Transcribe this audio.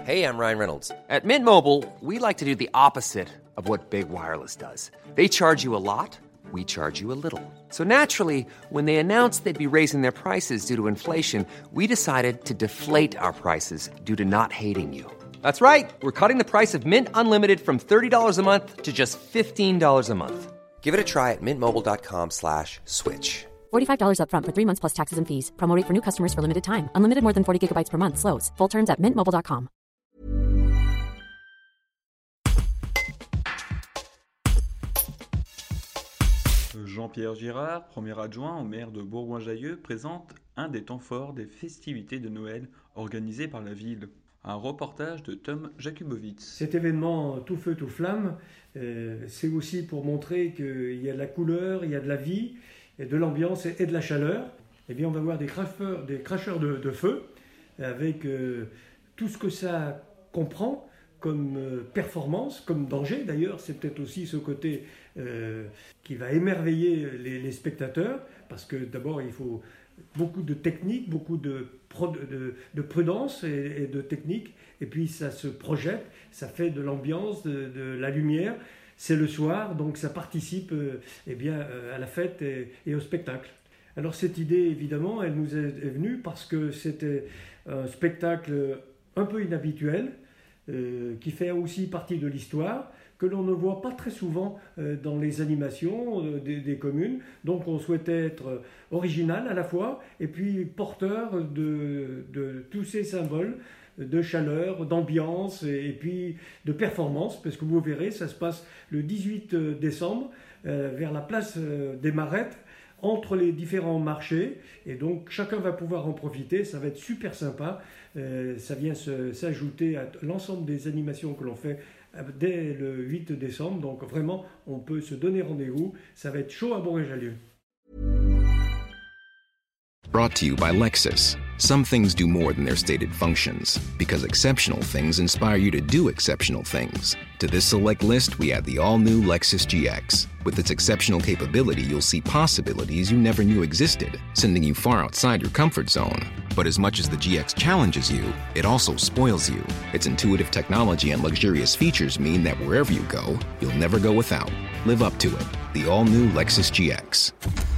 Hey, I'm Ryan Reynolds. At Mint Mobile, we like to do the opposite of what Big Wireless does. They charge you a lot, we charge you a little. So naturally, when they announced they'd be raising their prices due to inflation, we decided to deflate our prices due to not hating you. That's right. We're cutting the price of Mint Unlimited from $30 a month to just $15 a month. Give it a try at mintmobile.com/switch. $45 up front for 3 months plus taxes and fees. Promo rate for new customers for limited time. Unlimited more than 40 gigabytes per month. Slows full terms at mintmobile.com. Jean-Pierre Girard, premier adjoint au maire de Bourgoin-Jallieu, présente un des temps forts des festivités de Noël organisées par la ville. Un reportage de Tom Jakubowicz. Cet événement tout feu, tout flamme, c'est aussi pour montrer qu'il y a de la couleur, il y a de la vie, et de l'ambiance et de la chaleur. Eh bien, on va voir des cracheurs de feu, avec tout ce que ça comprend comme performance, comme danger. D'ailleurs, c'est peut-être aussi ce côté qui va émerveiller les spectateurs, parce que d'abord, il faut beaucoup de technique, beaucoup de prudence et de technique, et puis ça se projette, ça fait de l'ambiance, de la lumière. C'est le soir, donc ça participe à la fête et au spectacle. Alors cette idée, évidemment, elle nous est venue parce que c'était un spectacle un peu inhabituel, qui fait aussi partie de l'histoire, que l'on ne voit pas très souvent dans les animations des communes. Donc on souhaitait être original à la fois, et puis porteur de tous ces symboles de chaleur, d'ambiance et puis de performance, parce que vous verrez, ça se passe le 18 décembre vers la place des Marettes, entre les différents marchés, et donc chacun va pouvoir en profiter. Ça va être super sympa. Ça vient s'ajouter à l'ensemble des animations que l'on fait dès le 8 décembre, donc vraiment on peut se donner rendez-vous. Ça va être chaud à Bourgoin-Jallieu. Brought to you by Lexus. Some things do more than their stated functions, because exceptional things inspire you to do exceptional things. To this select list, we add the all-new Lexus GX. With its exceptional capability, you'll see possibilities you never knew existed, sending you far outside your comfort zone. But as much as the GX challenges you, it also spoils you. Its intuitive technology and luxurious features mean that wherever you go, you'll never go without. Live up to it. The all-new Lexus GX.